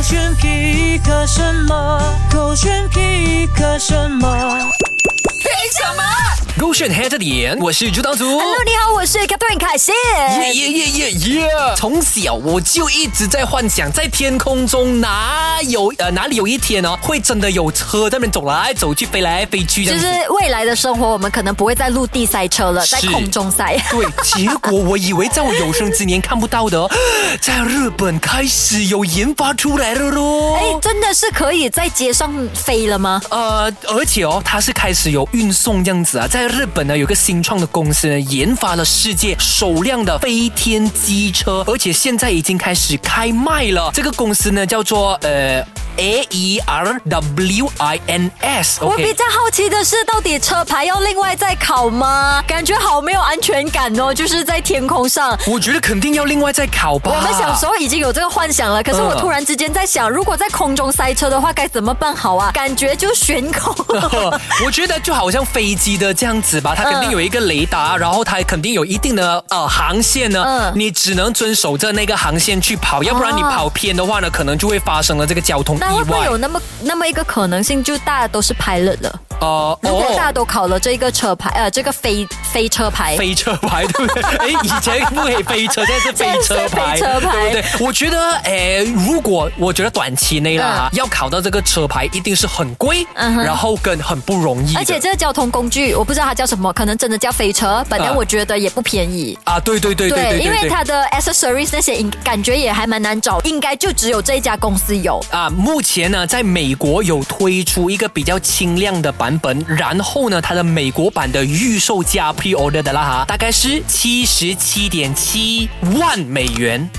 选皮克什么？勾选皮克什么？ 凭什么？ 勾选黑着点，我是朱当族。 Hello， 你好，我是 Catherine 凯欣。 耶！从小我就一直在幻想，在天空中哪里有一天呢，会真的有车在那边走来走去、飞来飞去这样子。 就是未来的生活，我们可能不会在陆地塞车了，在空中塞。 对，结果我以为在我有生之年看不到的，在日本开始有研发出来了咯。 哎，真的是可以在街上飞了吗？ 而且它是开始有运送这样子啊，在日本呢有个新创的公司呢，研发了世界首辆的飞天机车，而且现在已经开始开卖了。这个公司呢叫做AERWINS。 我比较好奇的是，到底车牌要另外再考吗？感觉好没有安全感哦，就是在天空上。 我觉得肯定要另外再考吧。 我们小时候已经有这个幻想了，可是我突然之间在想，如果在空中塞车的话，该怎么办好啊？感觉就悬空。 我觉得就好像飞机的这样子吧，它肯定有一个雷达，然后它肯定有一定的航线呢，你只能遵守着那个航线去跑，要不然你跑偏的话呢，可能就会发生了这个交通意外。 那会不会有那么一个可能性，就大家都是 pilot 了？如果大家都考了这个车牌，这个飞车牌， 飞车牌对不对？以前不可以飞车，现在是飞车牌，对不对？我觉得，如果我觉得短期内啦，要考到这个车牌，一定是很贵，然后跟很不容易。 而且这个交通工具，我不知道它叫什么，可能真的叫飞车，本来我觉得也不便宜啊。对， 因为它的 accessories 那些感觉也还蛮难找，应该就只有这一家公司有啊。目前呢，在美国有推出一个比较轻量的版本，然后呢，它的美国版的预售价 pre-order 的啦哈，大概是77.7万美元。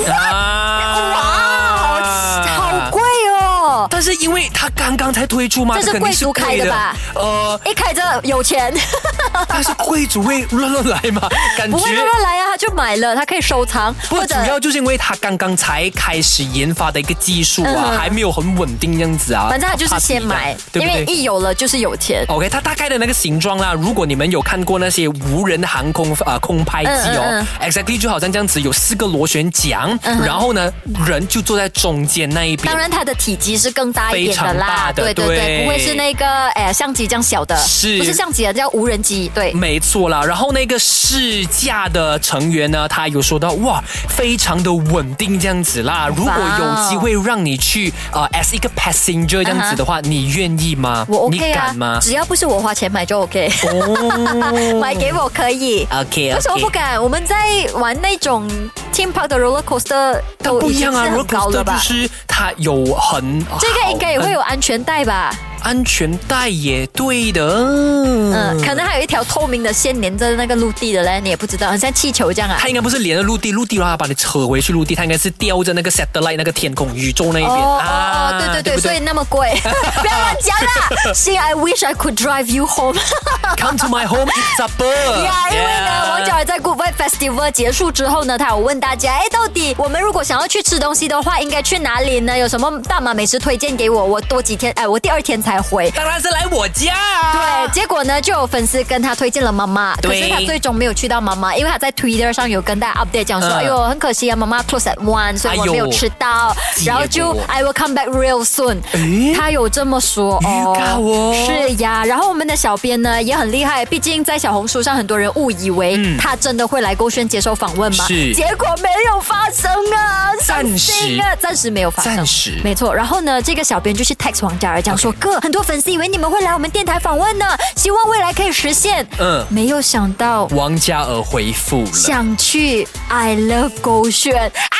哇，好贵哦！ 但是因为它刚刚才推出嘛， 这是贵族开的吧？一开着有钱， 但是贵族会乱来嘛？感觉不会乱来啊，他就买了，他可以收藏。 不，主要就是因为他刚刚才开始研发的一个技术啊，还没有很稳定这样子啊。 反正他就是先买，对不对？因为一有了就是有钱。 OK， 它大概的那个形状啦，如果你们有看过那些无人航空空拍机exactly 就好像这样子，有4个螺旋桨，然后呢，人就坐在中间那一边。 当然，它的体积是更大一点的啦，对，不会是那个相机这样小的， 是不是相机啊？叫无人机，对， 没错啦。然后那个试驾的成员呢，他有说到哇，非常的稳定这样子啦。如果有机会让你去as 一个 passenger 这样子的话，你愿意吗？ 我 OK 啊， 你敢吗？ 只要不是我花钱买就 OK。买给我可以。 OK。 为什么不敢？我们在玩那种 theme park 的 roller coaster 都不一样啊 ，roller coaster 就是它有这个应该也会有安全带吧？ 安全带也对的， 可能还有一条透明的线连着那个陆地的嘞，你也不知道，很像气球这样啊。 它应该不是连着陆地的话把你扯回去陆地，它应该是吊着那个 satellite 那个天空宇宙那一边对，所以那么贵，不要乱讲啦。See, I wish I could drive you home. Come to my home, eat supper. 因为呢，王嘉尔在 Good Vibe Festival 结束之后呢，他有问大家，到底我们如果想要去吃东西的话，应该去哪里呢？有什么大马美食推荐给我？我多几天，我第2天才回。 当然是来我家对，结果呢，就有粉丝跟他推荐了妈妈，可是他最终没有去到妈妈，因为他在 Twitter 上有跟大家 update 讲说，哎呦，很可惜啊，妈妈 close at 1，所以我没有吃到。然后就 I will come back real soon。他有这么说是呀。然后我们的小编呢也很厉害，毕竟在小红书上很多人误以为他真的会来勾选接受访问嘛，结果没有发生啊，暂时没有发生，没错。然后呢，这个小编就去 text 王嘉尔讲说，哥，很多粉丝以为你们会来我们电台访问呢，希望未来可以实现。没有想到王嘉尔回复了， 想去 I love 勾选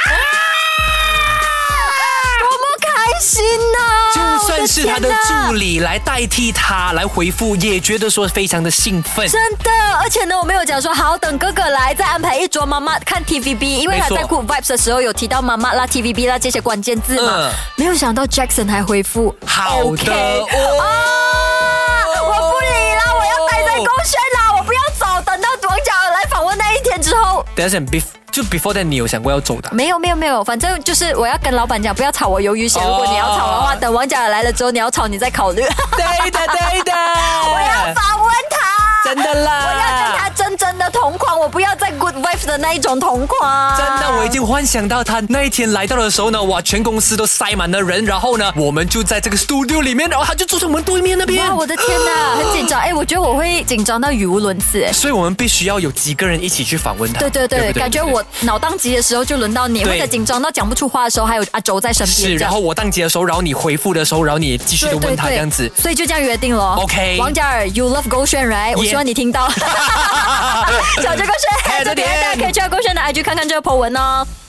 多么开心啊！ 就算是他的助理来代替他来回复，也觉得说非常的兴奋。 真的，而且呢，我没有讲说好等哥哥来再安排一桌妈妈看 TVB， 因为他在 Good Vibes 的时候有提到妈妈啦、TVB 啦这些关键字嘛。没有想到 Jackson 还回复好的。我不理啦，我要待在勾选啦，我不要走，等到王嘉尔来访问那一天之后。 等一下就 before that 你有想过要走的？ 没有，反正就是我要跟老板讲，不要炒我鱿鱼线。如果你要炒的话，等王嘉尔来了之后你要炒，你再考虑。 对的。 我要访问他。 真的啦， 我要跟他真的同框，我不要再 good vibes 的那一种同框。 真的，我已经幻想到他那一天来到的时候呢，哇，全公司都塞满了人，然后呢，我们就在这个 studio 里面，然后他就坐在我们对面那边。 哇，我的天哪，很紧张。我觉得我会紧张到语无伦次。 所以我们必须要有几个人一起去访问他。 对，感觉我脑当机的时候就轮到你，或者紧张到讲不出话的时候，还有阿周在身边。 是，然后我当机的时候，然后你回复的时候，然后你继续的问他这样子。 所以就这样约定了。 OK， 王嘉尔 ，You love 勾选 right？ 我希望你听到。小这勾选，这边大家可以去到勾选的 IG 看看这个 po 文哦。